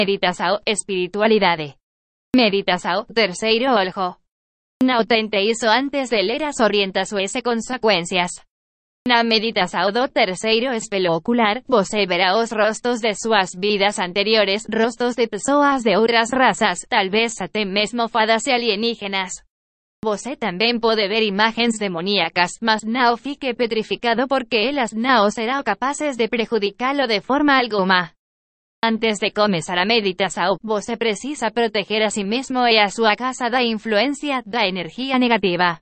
Meditação, espiritualidade. Meditação, terceiro olho. Não tente isso antes de ler as orientações e consequências. Na meditação do terceiro espelho ocular, você verá os rostos de suas vidas anteriores, rostos de pessoas de outras raças, talvez até mesmo fadas e alienígenas. Você também pode ver imagens demoníacas, mas não fique petrificado porque elas não serão capazes de prejudicá-lo de forma alguma. Antes de começar a meditação, você precisa proteger a si mesmo e a sua casa da influência da energia negativa.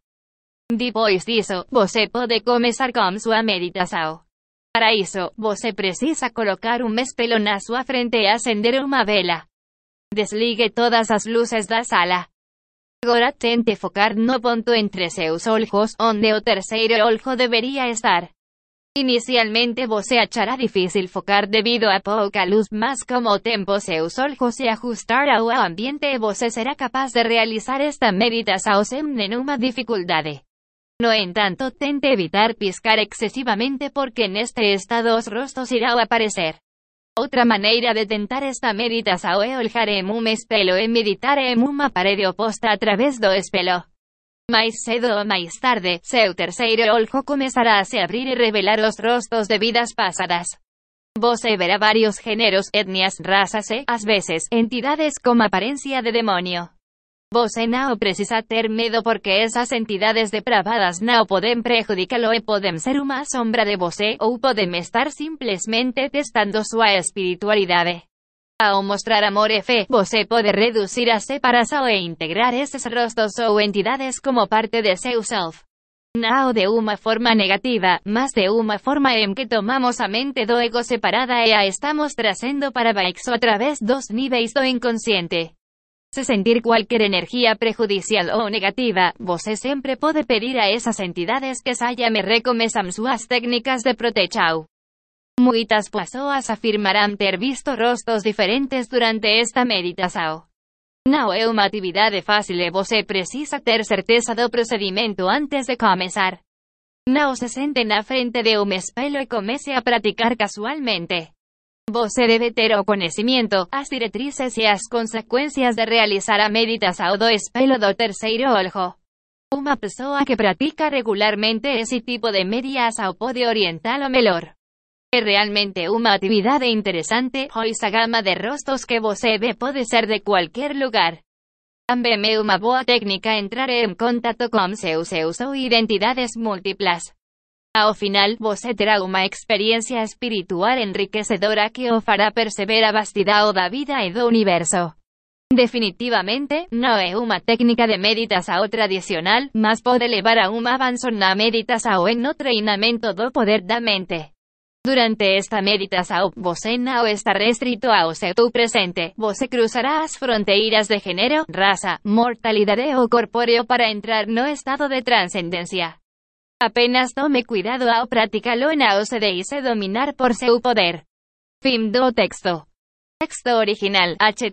Depois disso, você pode começar com sua meditação. Para isso, você precisa colocar espelho na sua frente e acender uma vela. Desligue todas as luzes da sala. Agora tente focar no ponto entre seus olhos, onde o terceiro olho deveria estar. Inicialmente você achará difícil focar devido a pouca luz, mas como o tempo seus olhos se ajustar ao ambiente você será capaz de realizar esta meditação sem nenhuma dificuldade. No entanto, tente evitar piscar excesivamente porque neste estado os rostos irão aparecer. Outra maneira de tentar esta meditação é olhar em espelho e meditar em uma parede oposta através do espelho. Mais cedo ou mais tarde, seu terceiro olho começará a se abrir e revelar os rostos de vidas passadas. Você verá vários gêneros, etnias, razas e, às vezes, entidades com aparência de demônio. Você não precisa ter medo porque essas entidades depravadas não podem prejudicá-lo e podem ser uma sombra de você ou podem estar simplesmente testando sua espiritualidade. Ao mostrar amor e fé, você pode reduzir a separação e integrar esses rostos ou entidades como parte de seu self. Não de uma forma negativa, mas de uma forma em que tomamos a mente do ego separada e a estamos trazendo para baixo através dos níveis do inconsciente. Se sentir qualquer energia prejudicial ou negativa, você sempre pode pedir a essas entidades que saiam e recomeçam suas técnicas de proteção. Muitas pessoas afirmarão ter visto rostos diferentes durante esta meditação. Não é uma atividade fácil e você precisa ter certeza do procedimento antes de começar. Não se sente na frente de espelho e comece a praticar casualmente. Você deve ter o conhecimento, as diretrizes e as consequências de realizar a meditação do espelho do terceiro olho. Uma pessoa que pratica regularmente esse tipo de meditação pode orientá-lo melhor. É realmente uma atividade interessante, pois a gama de rostos que você vê pode ser de qualquer lugar. Também é uma boa técnica entrar em contato com seus eus ou identidades múltiplas. Ao final, você terá uma experiência espiritual enriquecedora que o fará perceber a vastidão da vida e do universo. Definitivamente, não é uma técnica de meditação tradicional, mas pode levar a um avanço na meditação e no treinamento do poder da mente. Durante esta meditação, você não está restrito ao seu presente, você cruzará as fronteiras de gênero, raça, mortalidade ou corpóreo para entrar no estado de transcendência. Apenas tome cuidado ao praticá-lo e não se deixe dominar por seu poder. Fim do texto. Texto original,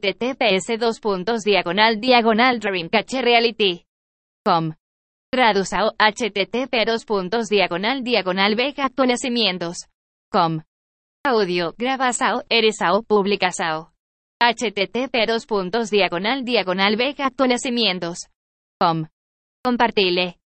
https://dreamcatcherreality.com. Tradução, http://vega-conhecimientos.com. Audio, gravação, edição, publicação. http://vega-conhecimientos.com. Compartilhe.